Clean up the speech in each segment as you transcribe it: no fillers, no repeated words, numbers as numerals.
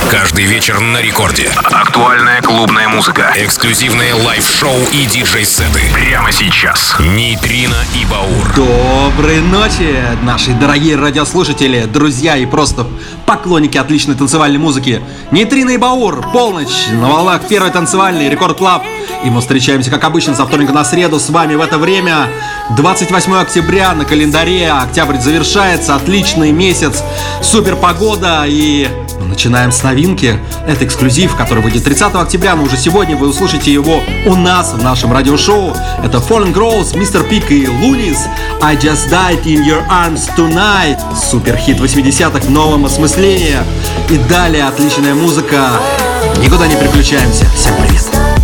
Каждый вечер на рекорде. Актуальная клубная музыка. Эксклюзивные лайв-шоу и диджей-сеты. Прямо сейчас. Нейтрино и Баур. Доброй ночи, наши дорогие радиослушатели, друзья и просто поклонники отличной танцевальной музыки. Нейтрино и Баур. Полночь на волнах первой танцевальной Рекорд Клаб. И мы встречаемся, как обычно, со вторника на среду с вами в это время. 28 октября на календаре. Октябрь завершается. Отличный месяц. Супер погода. И мы начинаем с новинки. Это эксклюзив, который выйдет 30 октября. Но уже сегодня вы услышите его у нас в нашем радиошоу. Это Fallen Grows, Mr. Pig и Loonies. I Just Died in Your Arms Tonight. Супер хит 80-х в новом осмыслении. И далее отличная музыка. Никуда не переключаемся. Всем привет.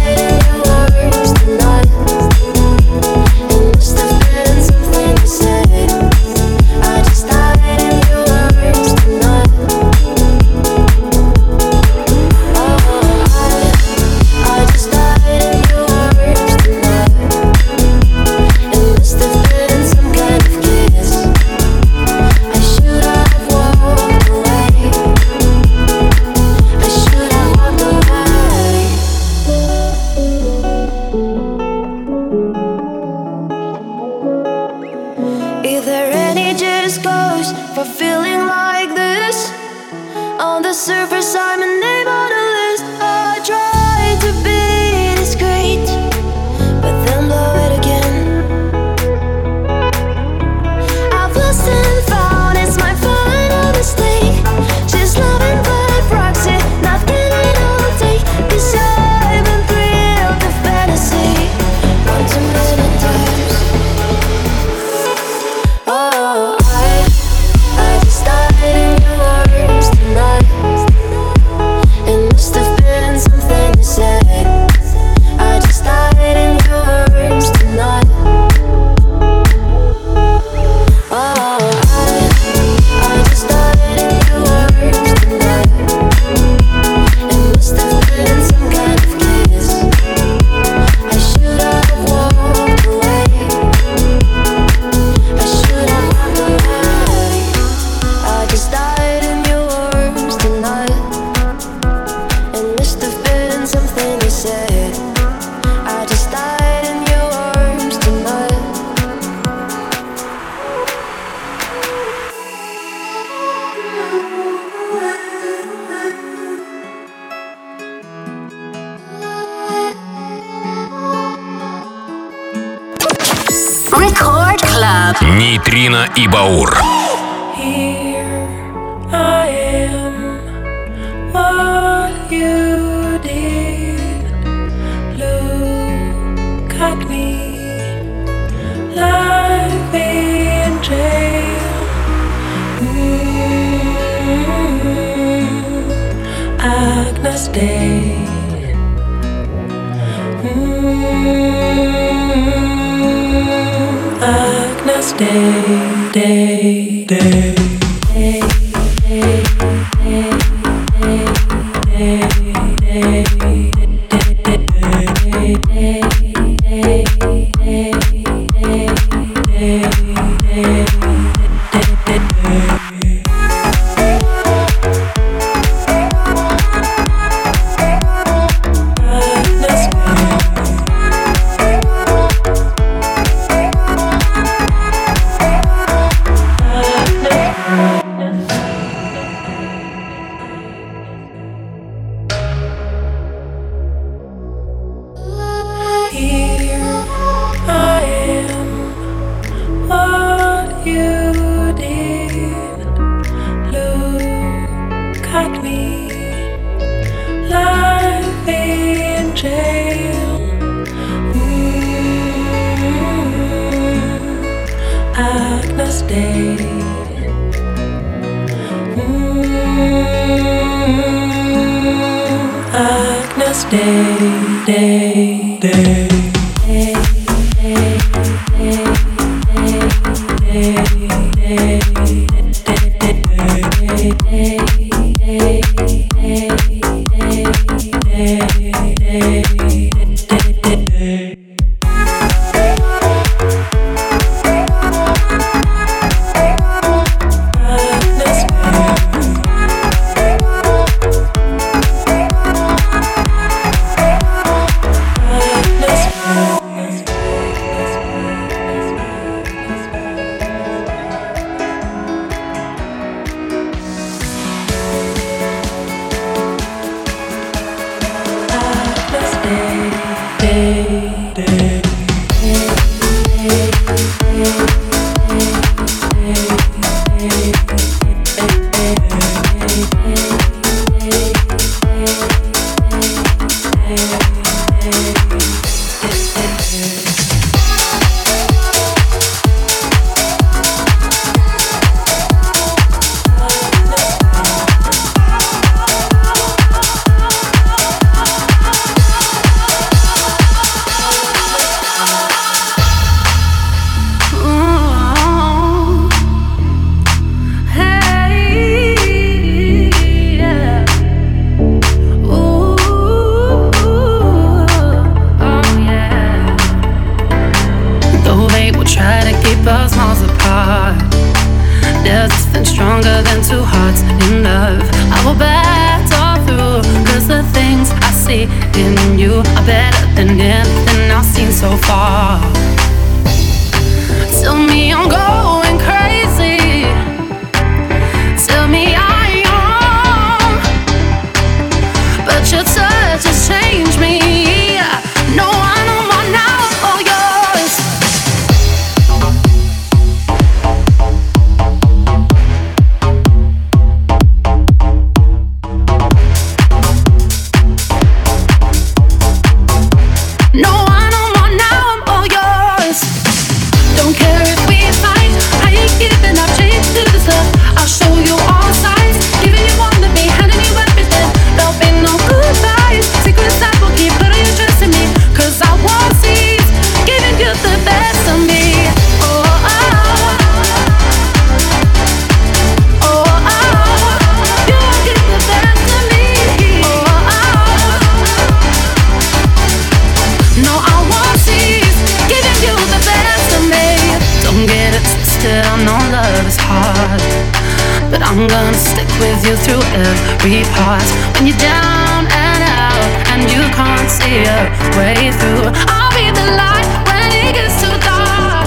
Нейтрино и Баур. so far. Tell me I'm going crazy. Tell me I'm wrong, but your touch has changed me. No, I know more now, all yours. No, I know more now, I'm all yours. Don't care if we fight, I ain't giving up, change to the stuff. I'll show you all sides, giving you all of me, handing you everything. There'll be no goodbyes, secrets I will keep, putting your trust in me. Cause I won't cease, giving you the best of me. Oh, oh, oh, oh, you give the best of me. Oh, oh, no, I won't cease, giving you the best of me. Don't get it twisted, I know love is hard, but I'm gonna stick with you through every part. When you're down and out and you can't see a way through, I'll be the light when it gets too dark.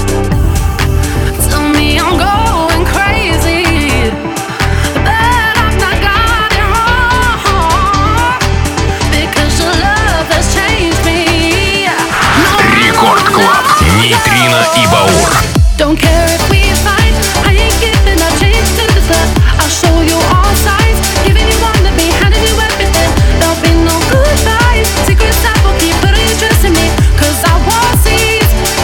Tell me I'm going crazy, but I've not got it wrong, because your love has changed me. No, Рекорд Клаб. Нейтрино и Баур. don't care if we fight, I ain't giving up, change to the stuff. I'll show you all sides, giving you all of me, handing you everything. There'll be no goodbyes, secrets I will keep, putting your trust in me. Cause I won't cease,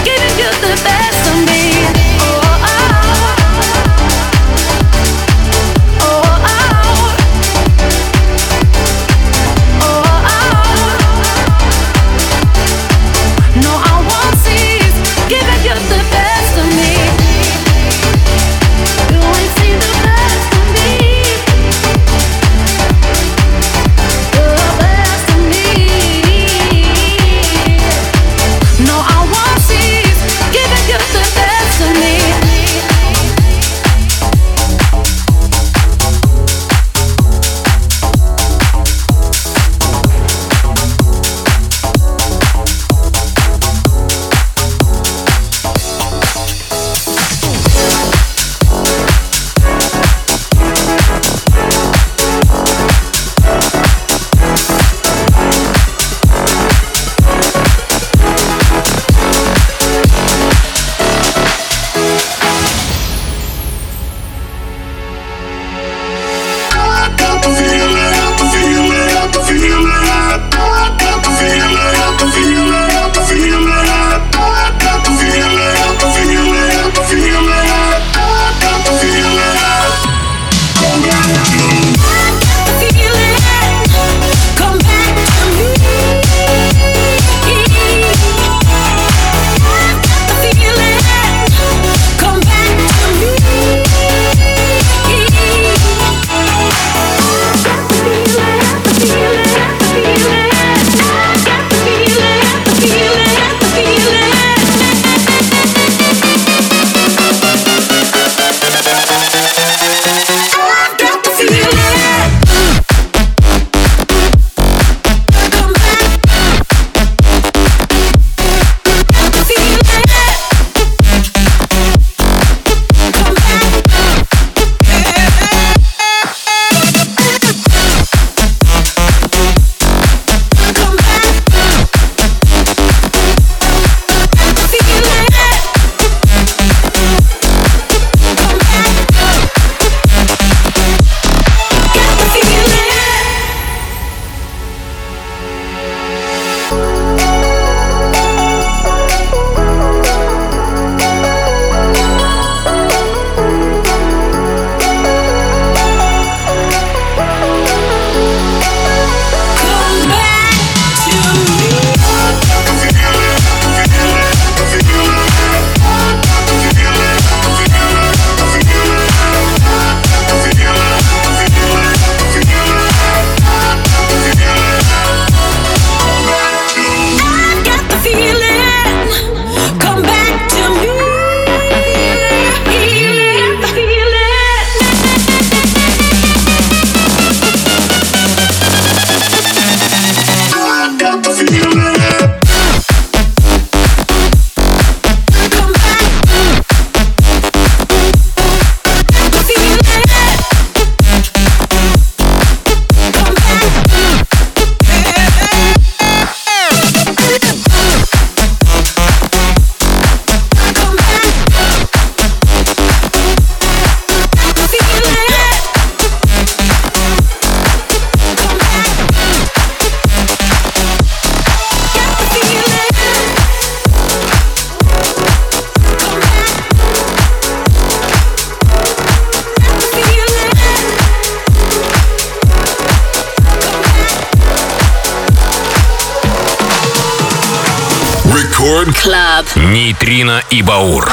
Рекорд Клаб. Нейтрино и Баур.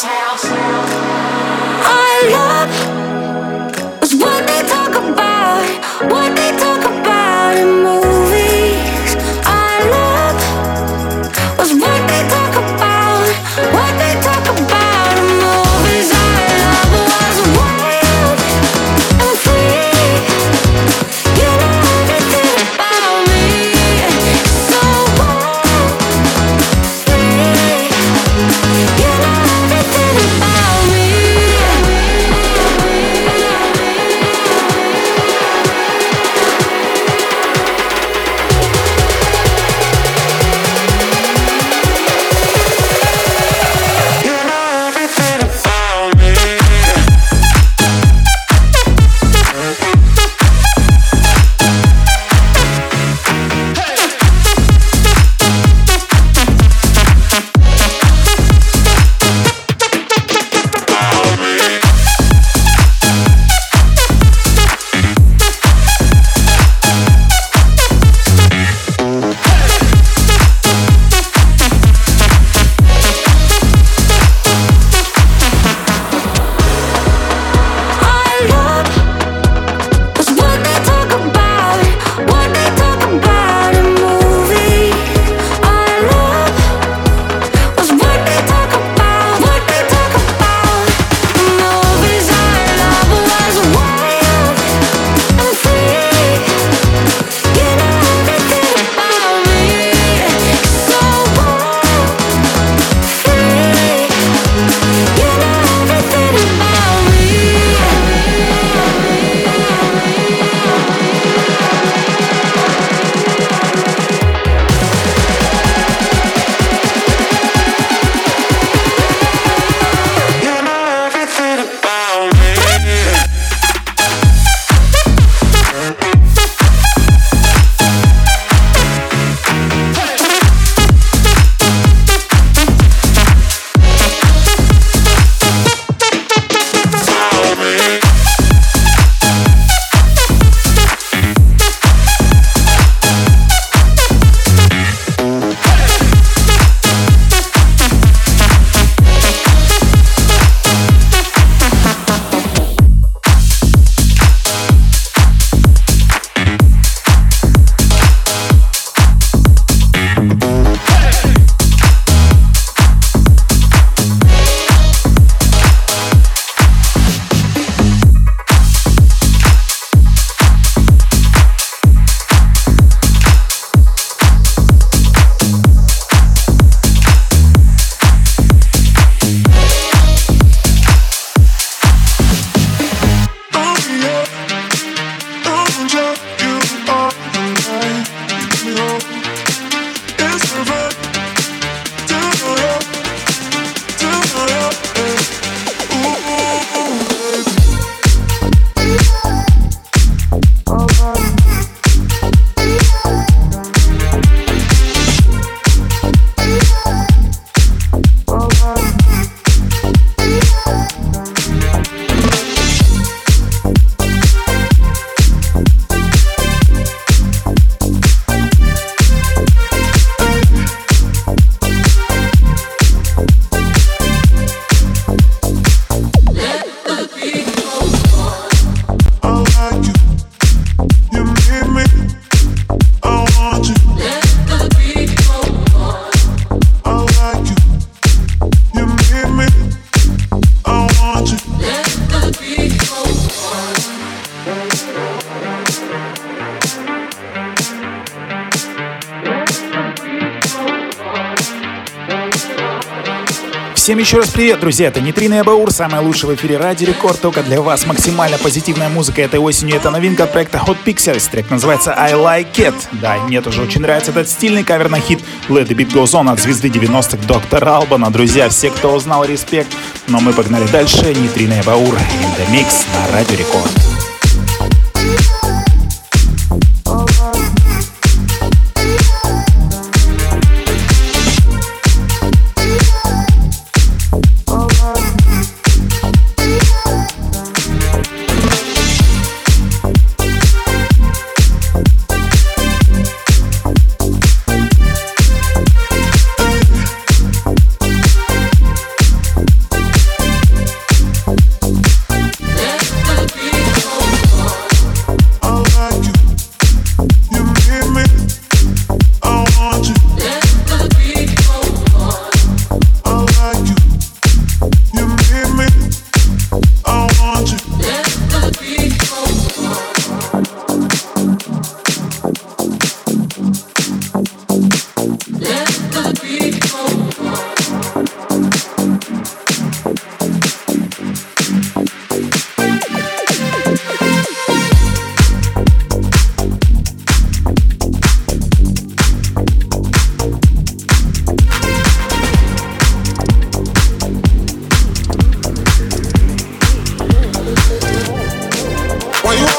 Всем еще раз привет, друзья, это Нейтрино и Баур, самое лучшее в эфире Радио Рекорд, только для вас максимально позитивная музыка этой осенью, это новинка от проекта Hot Pixels, трек называется I Like It, да, мне тоже очень нравится этот стильный кавер на хит Let the Beat Goes On от звезды 90-х Доктора Албана, друзья, все, кто узнал, респект, но мы погнали дальше, Нейтрино и Баур, in the mix на Радио Рекорд.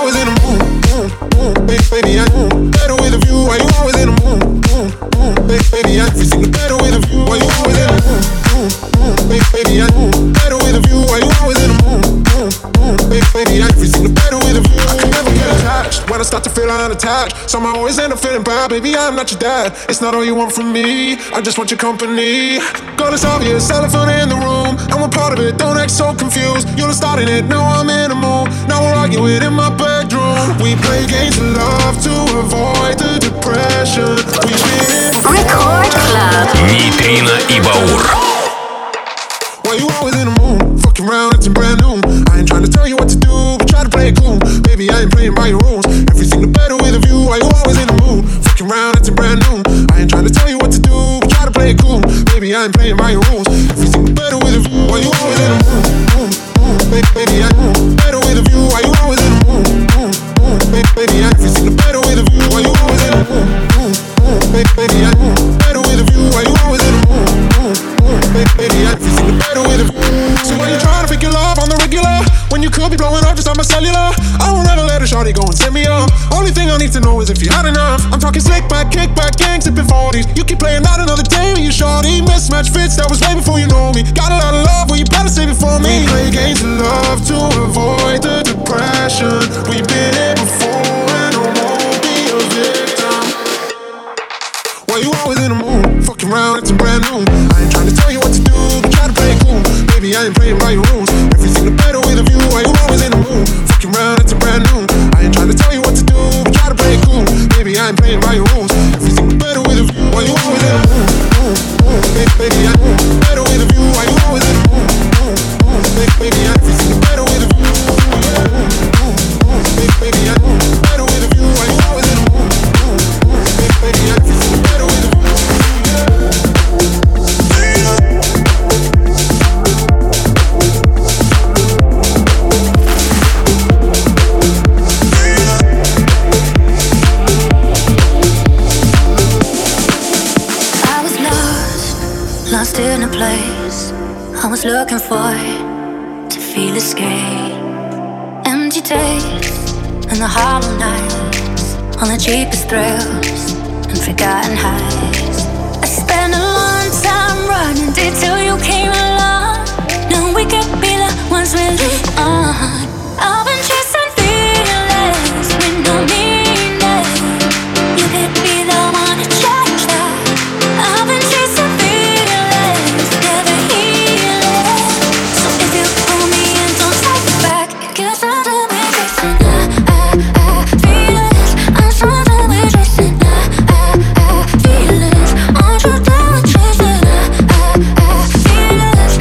always in the mood? Baby, I better with a view. Why you always in the mood? Baby, I everything better with a view. Why you always in the mood? Baby, I better with a view. Why you always in the mood? Baby, I everything better with a view. I can never get attached when I start to feel unattached. Somehow I always end up feeling bad. Baby, I'm not your dad. It's not all you want from me. I just want your company. God, it's obvious, elephant in the room. And we're part of it. Don't act so confused. You're starting it. Now I'm in the mood. Now we're arguing in my bedroom. We play games of love to avoid the depression. We've been Record Club. Нейтрино и Баур. Why you always in the mood? Fucking around, acting brand new. I ain't trying to tell you what to do, but try to play it cool. Baby, I ain't playing by your rules. Everything the better with a view. Why you always in the mood? Fucking around, acting brand new. I ain't trying to tell you what to do, but try to play it cool. Baby, I ain't playing by your rules. Everything the better with a view. Why you always in the mood? Baby, I better with a view. Why you always in the mood? Baby, I everything the better with a view. Why you always in the mood? Baby, I better with a view. Why you always in the mood? Baby, I everything the better with a view. So when you trying to figure love on the regular, when you could be blowing up just on my cellular, I won't ever let a shawty go and set me up. Only thing I need to know is if you had enough. I'm talking slick back, kick back, gang sipping 40s. You keep playing out another day with you shawty. Mismatch fits, that was way before you know me. Got a lot of love, well you better save it for me. We play games of love to avoid the depression. We've been here before and I won't be a victim. Why you always in the mood? Fucking around, it's brand new. I ain't trying to tell you what to do, but try to play it cool. Baby, I ain't playing by your rules. Everything the better with a view. Why you always in the mood? Fucking around, it's brand new. I ain't trying to tell you what to do, but try to play it cool. Baby, I ain't playing by your rules. Everything the better with a view. Why you always in the mood? Baby, I better with a view. Why you always in the mood? Baby, I everything the better with a view. Baby, I better with a view. Why you always in the mood? Baby, I everything the better with a view. Lost in a place I was looking for to feel escape. Empty days and the hollow nights, all the cheapest thrills and forgotten highs. I spent a long time running till you came along. Now we could be the ones we live on. I've been chasing feelings with no meaning. You could be the one to change that. I've been chasing feelings, never healing. So if you pull me in, don't take it back. Guess I'm done with chasing feelings. I'm so done with chasing feelings. Aren't you done with chasing feelings?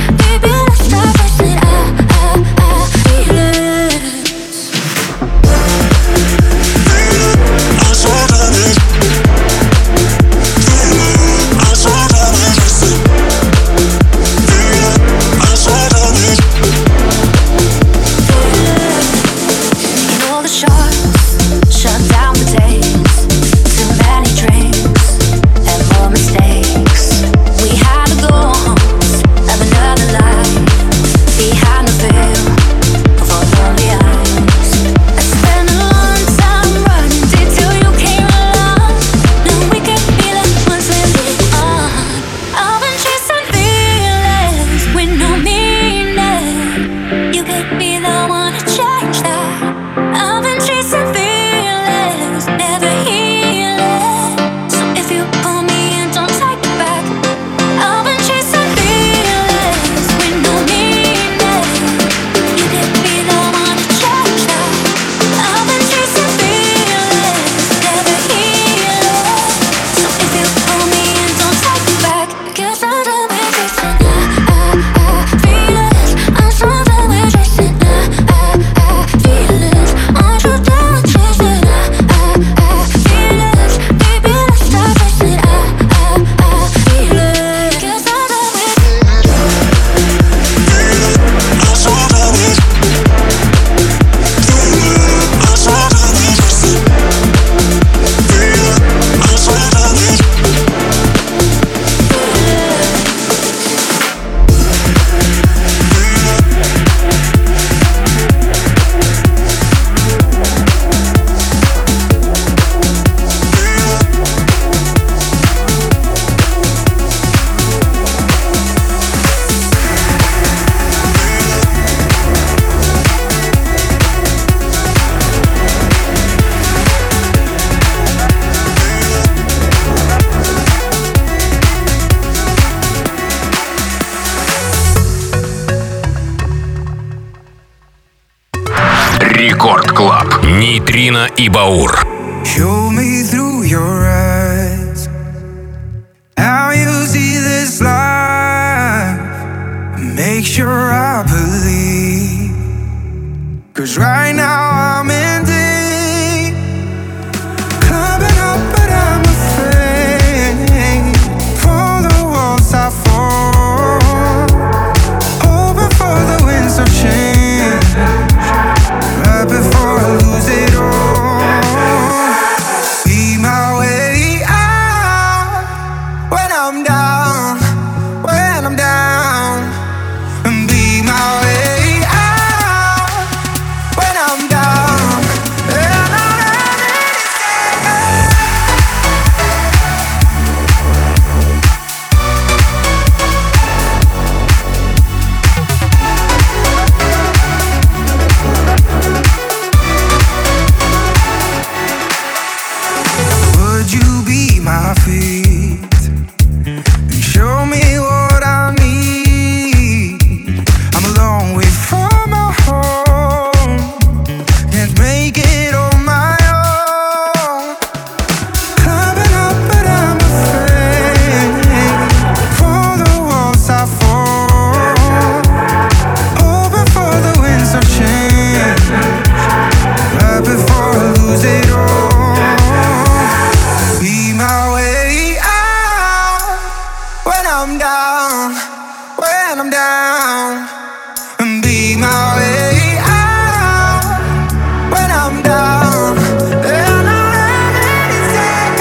Club. Нейтрино и Баур. Show me through your eyes how you see this life. Make sure I believe, 'cause right now I'm in deep. Climbing up but I'm afraid, for the walls I fall, hoping for the winds of change, right before I lose it all. Be my way out when I'm down, when I'm down. And be my way out when I'm down, and I'm ready to say would you be my feet and show me what I need? I'm a long way from my home, can't make it on my own. Climbing up but I'm afraid, for the walls I fall, hoping for the winds of change, right before I lose it all. Be my way out when I'm down, when I'm down. And be my way out when I'm down, and I'm ready to take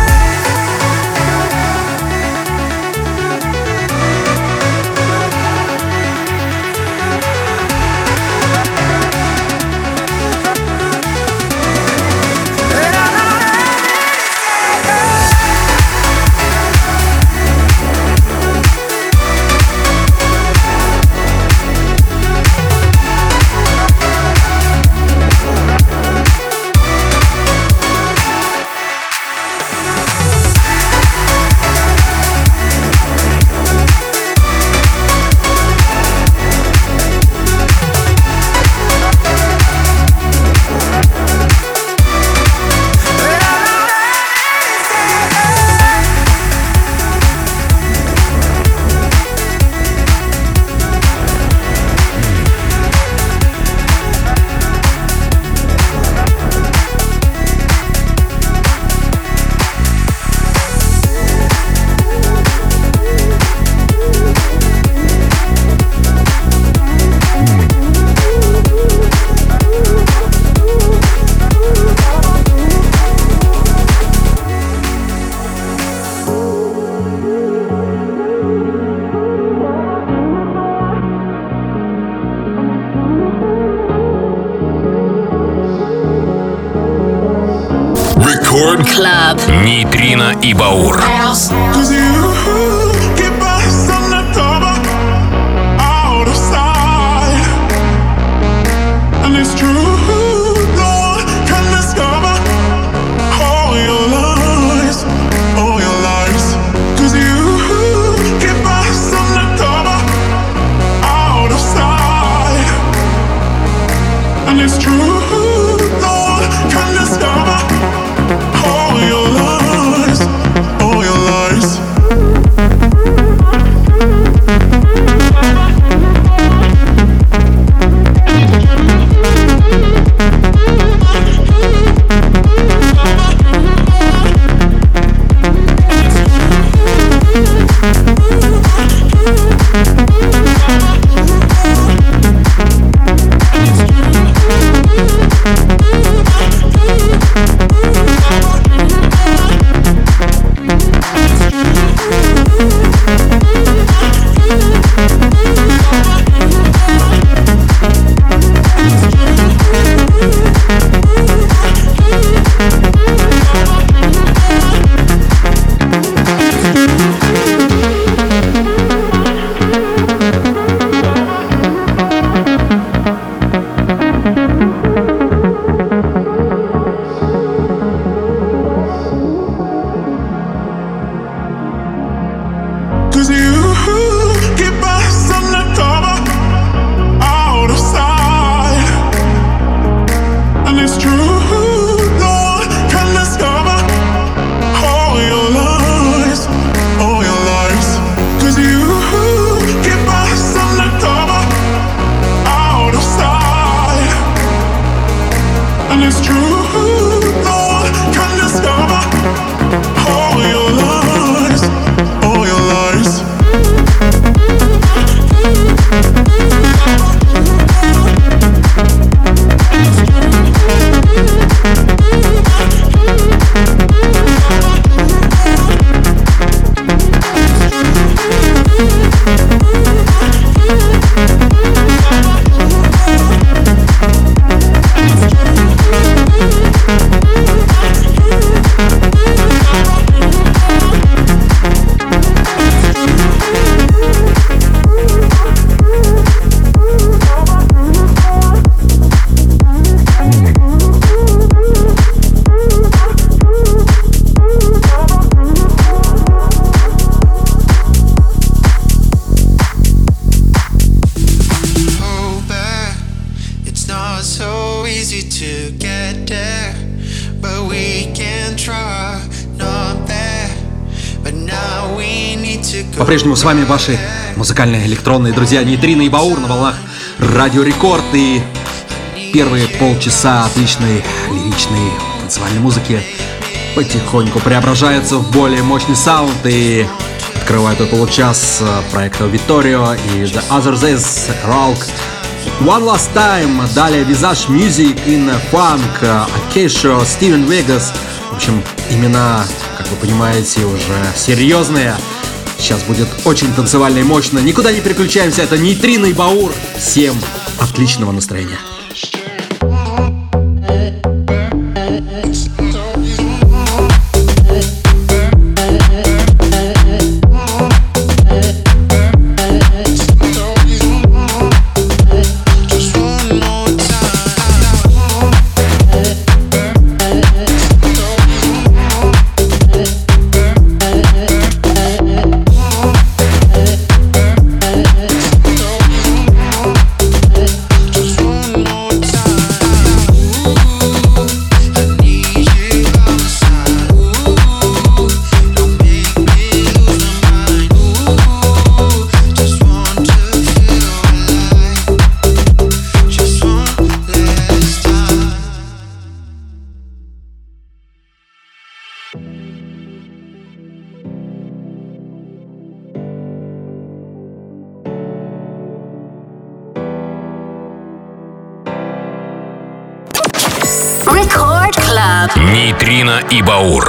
Рекорд Клаб. Нейтрино и Баур. Cause you keep us undercover, out of sight. And it's true, no one can discover all your lies, all your lies. Cause you keep us undercover, out of sight. And it's true, no one can discover all your lies, all your lies. По-прежнему с вами ваши музыкальные электронные друзья Нейтрина и Баур на волнах Радио Рекорд. И первые полчаса отличной лиричной танцевальной музыки потихоньку преображаются в более мощный саунд. И открывает этот получас проекта Vittorio и The Other Days Ralk One Last Time. Далее Visage Music in Funk, Acacia, Steven Vegas. В общем, имена, как вы понимаете, уже серьезные. Сейчас будет очень танцевально и мощно. Никуда не переключаемся. Это Нейтрина и Баур. Всем отличного настроения. Нейтрина и Баур.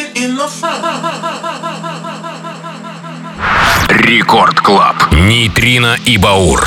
Рекорд Клаб. Нейтрино и Баур.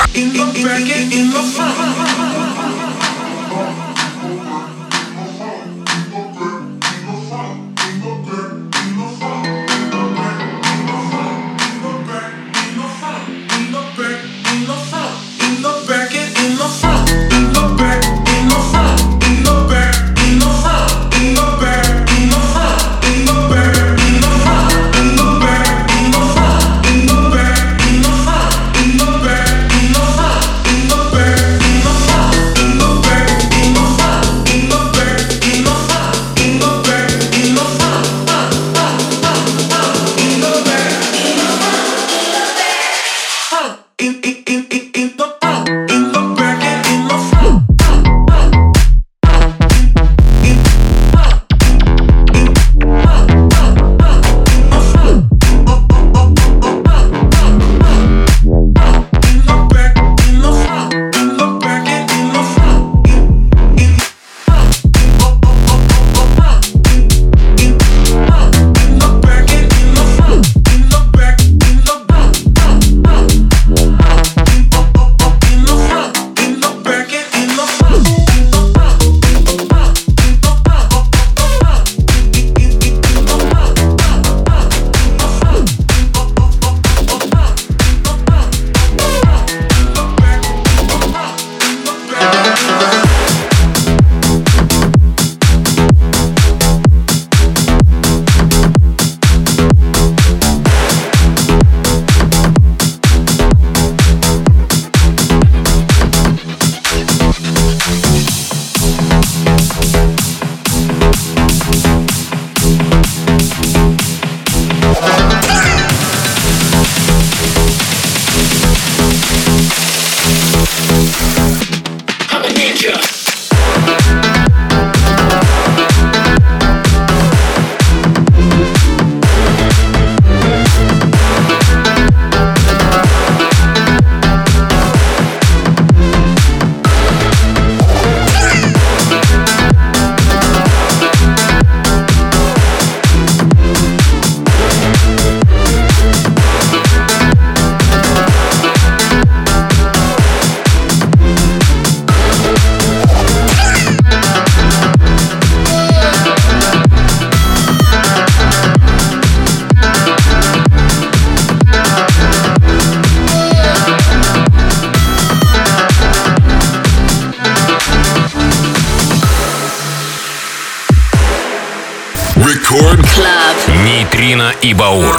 Рекорд Клаб. Нейтрино и Баур.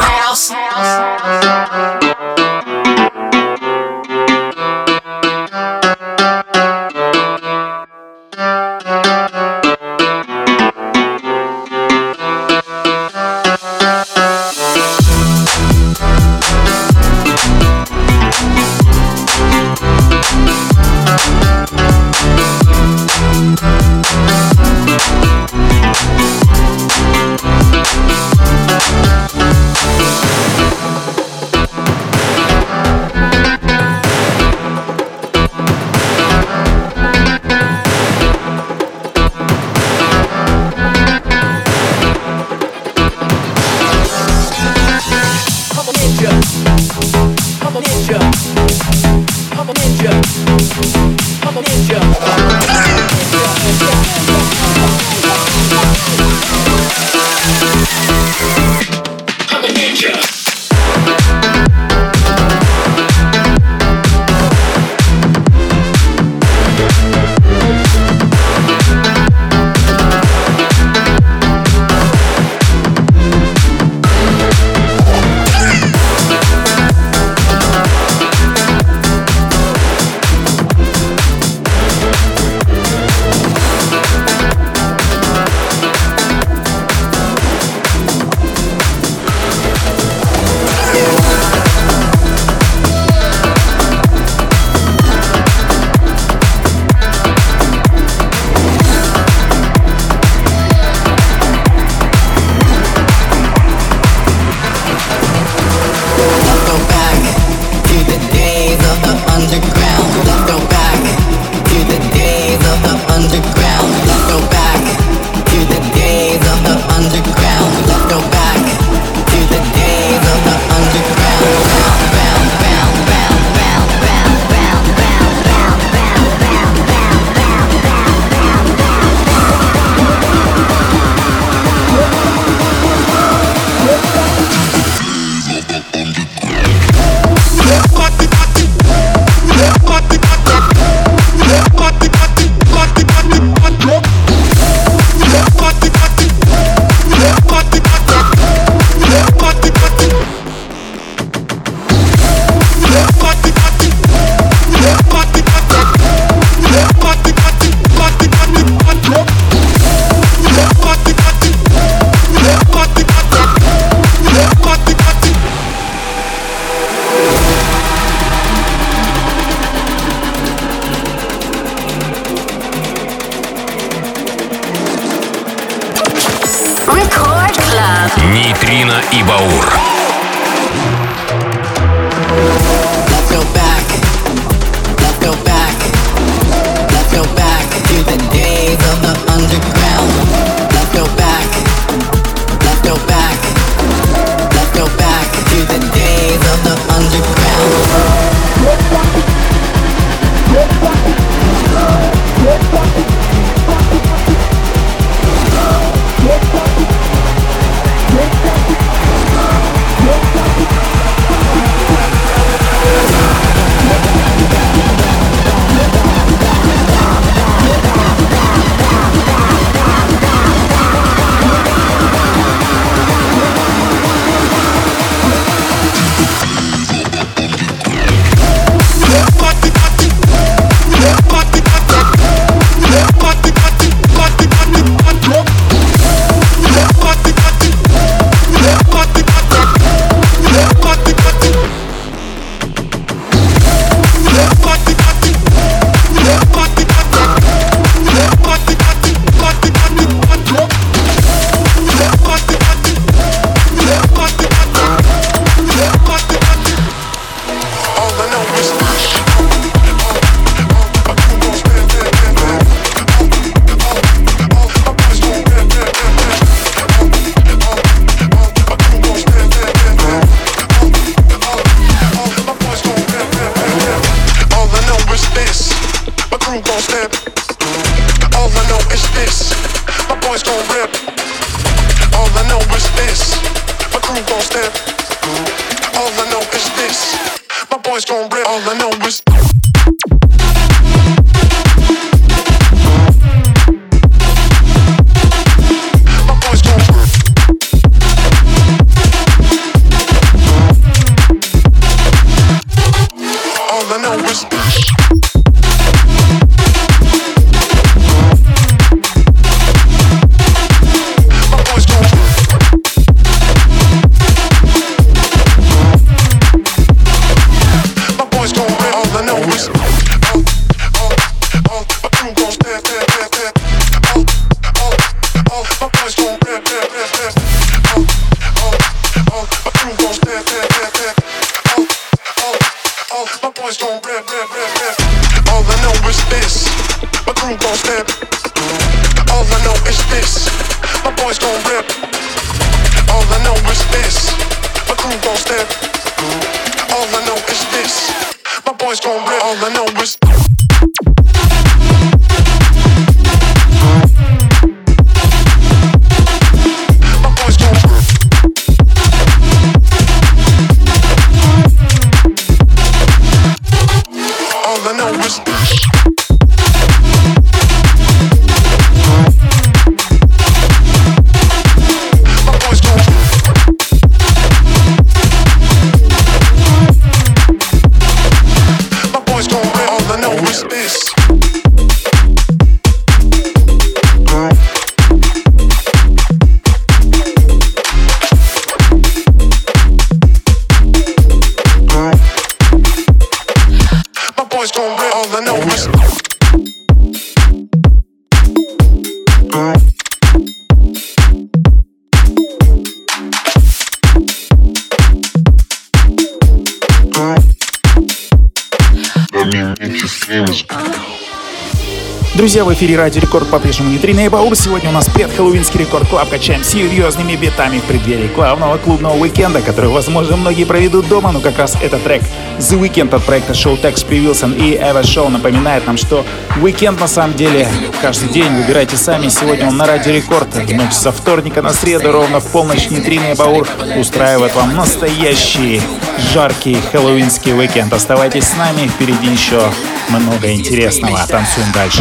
Нейтрино и Баур. Друзья, в эфире Радио Рекорд по-прежнему Нейтрино и Баур. Сегодня у нас предхэллоуинский Рекорд Клаб. Качаем серьезными битами в преддверии главного клубного уикенда, который, возможно, многие проведут дома, но как раз этот трек The Weekend от проекта Showtex Pre-Wilson и Eva Show напоминает нам, что уикенд на самом деле каждый день. Выбирайте сами. Сегодня он на Радио Рекорд. В ночь со вторника на среду ровно в полночь Нейтрино и Баур устраивает вам настоящий жаркий хэллоуинский уикенд. Оставайтесь с нами, впереди еще много интересного. Танцуем дальше.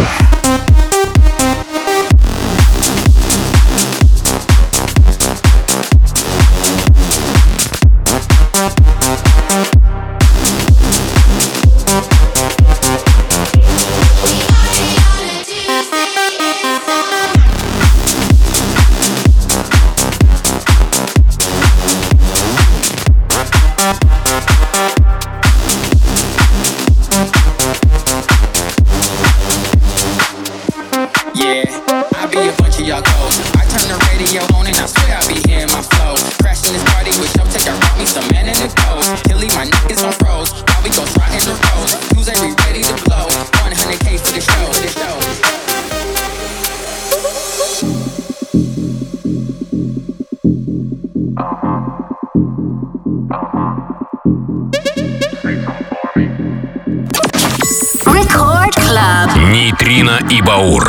Нейтрино и Баур.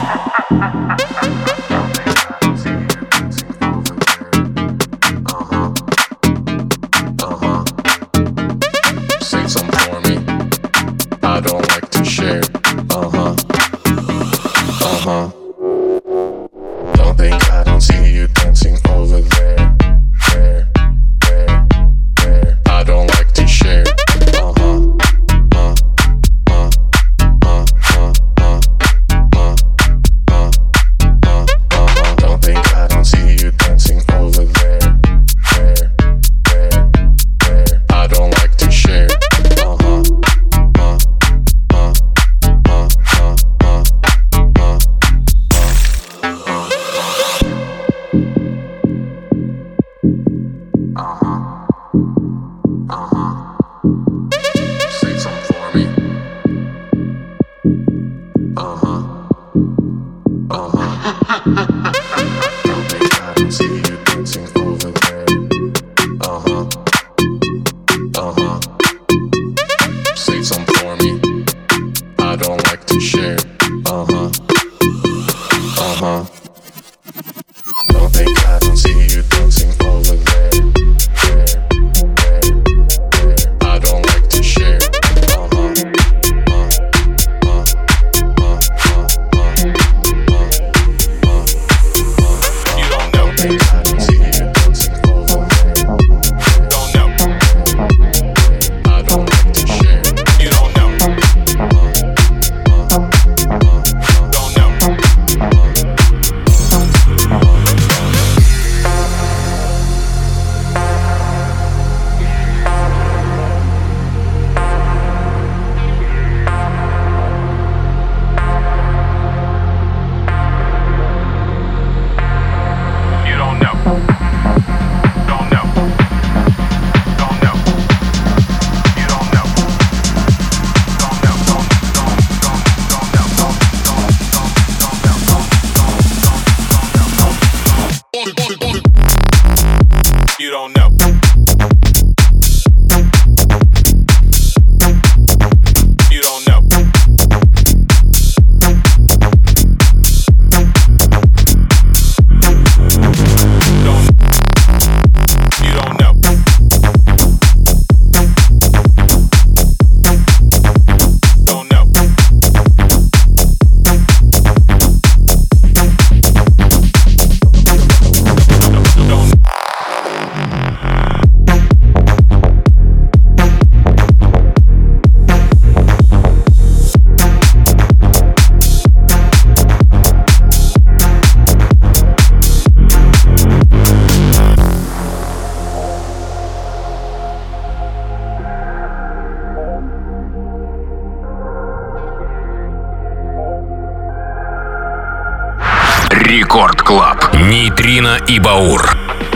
Рекорд Клаб. Нейтрино и Баур.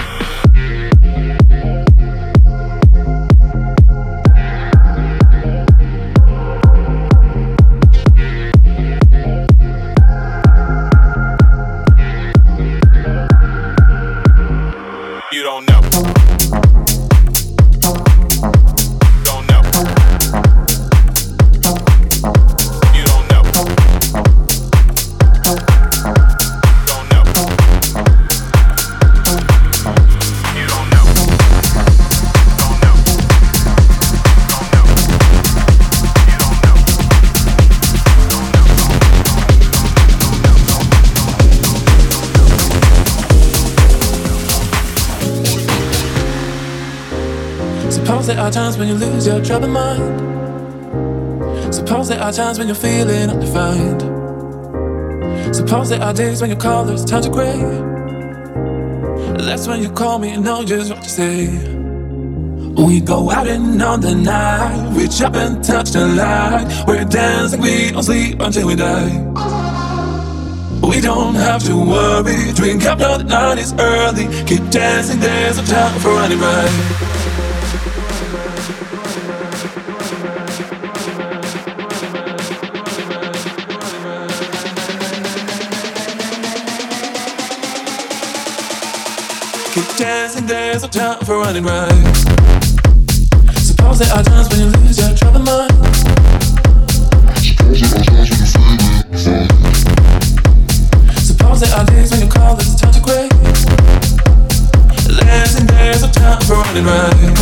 Suppose there are times when you lose your troubled mind. Suppose there are times when you're feeling undefined. Suppose there are days when you call there's times of gray. That's when you call me and know just what to say. We go out and on the night, reach up and touch the light. We're dancing, we don't sleep until we die. We don't have to worry, drink up, know the night is early. Keep dancing, there's no time for running right. Keep dancing, there's no time for running right. Suppose there are times when you lose your troubled mind. Suppose there are times when you're feeling there are days when you call this time to crave. There's a time for running right.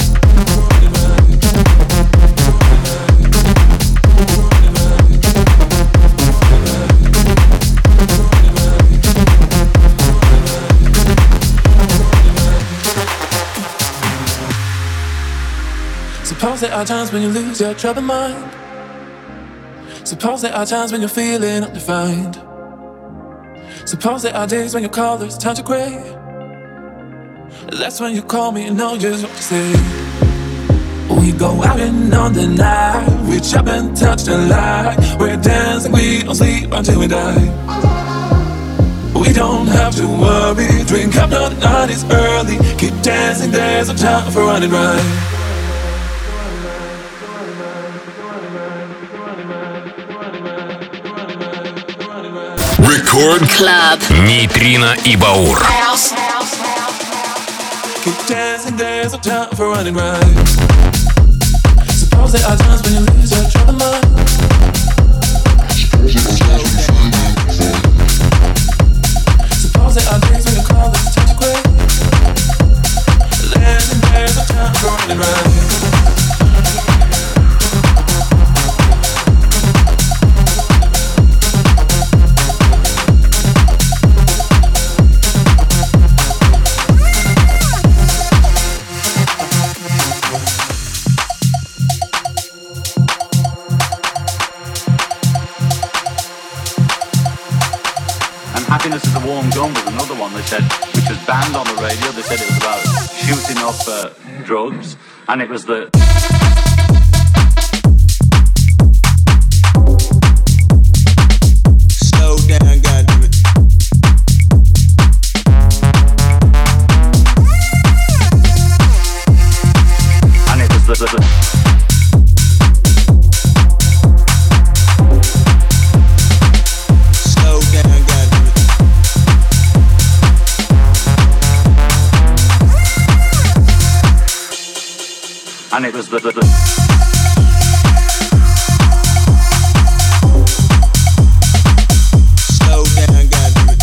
Suppose there are times when you lose your troubled mind. Suppose there are times when you're feeling undefined. Suppose there are days when you call this time to crave. That's when you call me and know just what to say. We go out and on the night, reach up and touch the light. We're dancing, we don't sleep until we die. We don't have to worry, drink up, no, the night is early. Keep dancing, there's a time for running right. Record Club. Нейтрино и Баур. Keep dancing, there's a time for running right. Suppose there are times when you lose your troubled mind. Suppose there are days when you call this time to quit. There's a time for running right. Happiness is a Warm Gun was another one they said, which was banned on the radio. They said it was about shooting up drugs, and it was the... Slow down, goddammit. And it was the and it was the slow down, goddammit.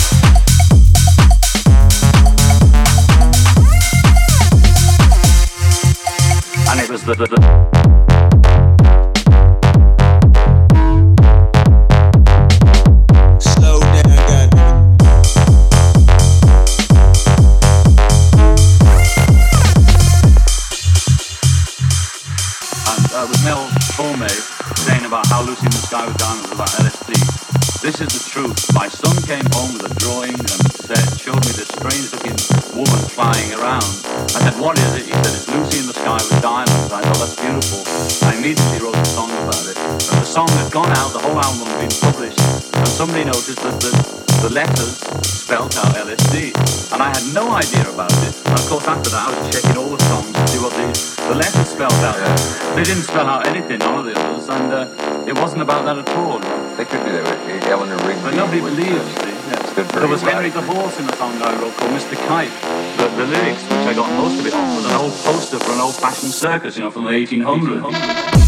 and it was the slow down, goddammit. with Mel Torme saying about how Lucy in the Sky with Diamonds was about LSD. This is the truth. My son came home with a drawing and showed me this strange looking woman flying around. I said, what is it? He said, it's Lucy in the Sky with Diamonds. I thought, that's beautiful. I immediately wrote a song about it. And the song had gone out, the whole album had been published, and somebody noticed that the letters spelled out LSD. And I had no idea about it. And of course after that I was checking all the songs to see what the letters spelled out. They didn't spell out anything, none of the others, and it wasn't about that at all. They could be there with Eleanor Rigby. But nobody believes. There was Henry the Horse in a song I wrote called Mr. Kite. The lyrics, which I got most of it off, was an old poster for an old-fashioned circus, from the 1800s.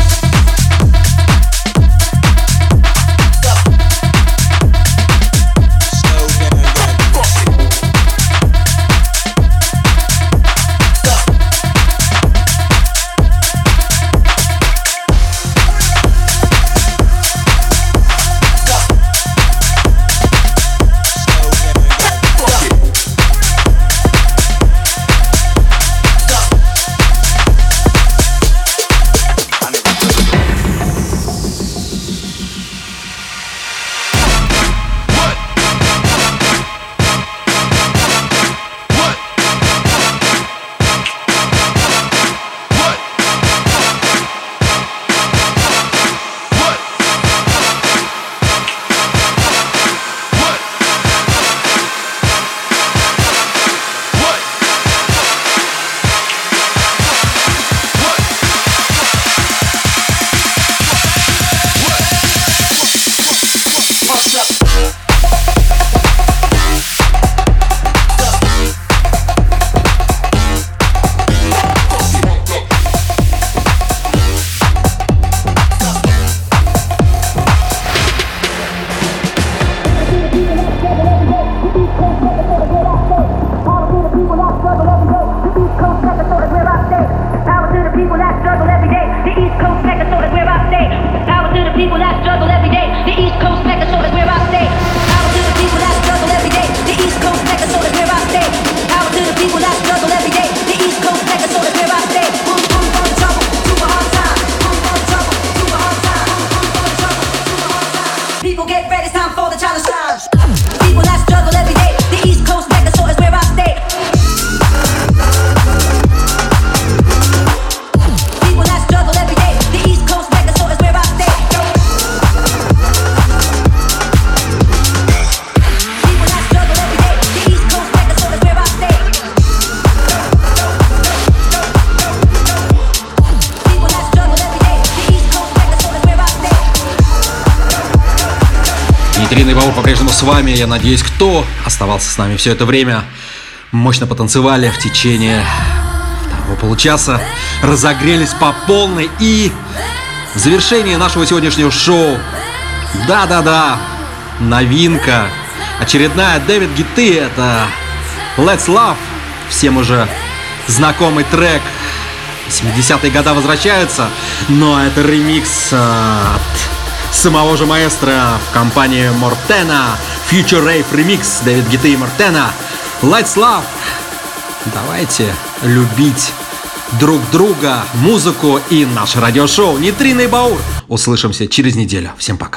Нейтрина и Баур по-прежнему с вами. Я надеюсь, кто оставался с нами все это время, мощно потанцевали в течение второго получаса, разогрелись по полной. И в завершении нашего сегодняшнего шоу, да-да-да, новинка, очередная Дэвид Гетты, это Let's Love, всем уже знакомый трек. 70-е годы возвращаются, но это ремикс от самого же маэстро в компании Мортена. Future Rave Remix, Дэвид Гетты и Мортена. Let's Love. Давайте любить друг друга, музыку и наше радиошоу Нейтрина и Баур. Услышимся через неделю. Всем пока.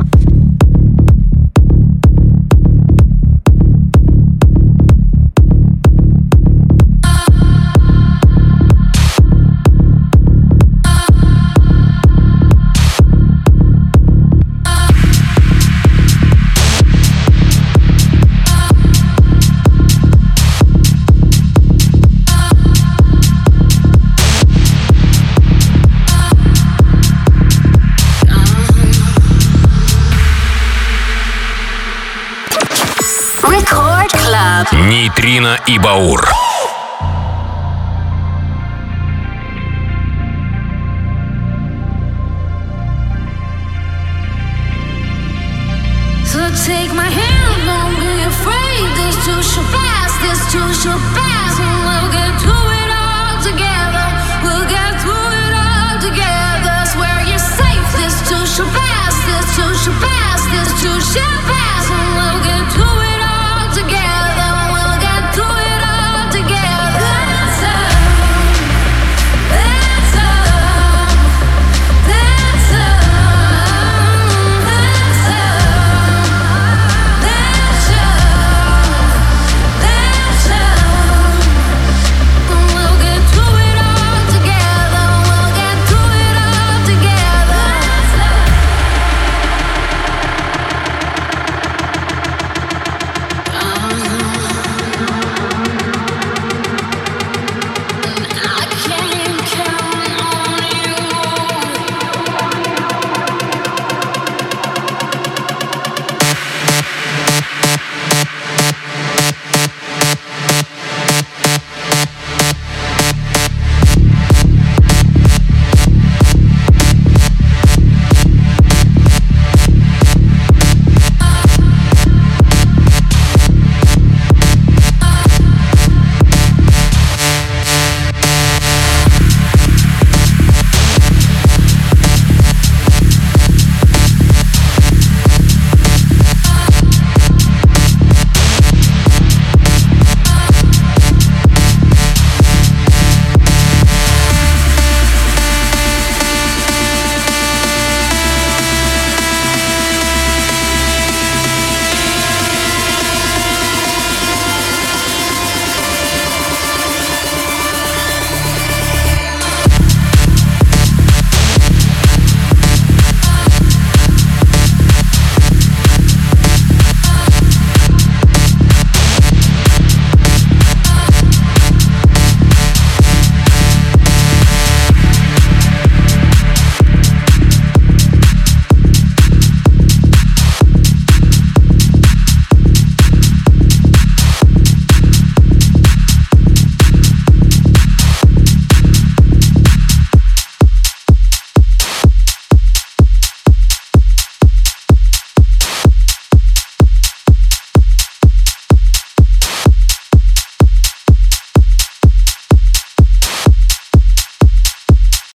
Нейтрина и Баур. So take my hand, don't be afraid. This too shall pass, this too shall pass. And we'll get through it all together. We'll get through it all together. Swear you're safe. This too shall pass, this too shall pass, this too shall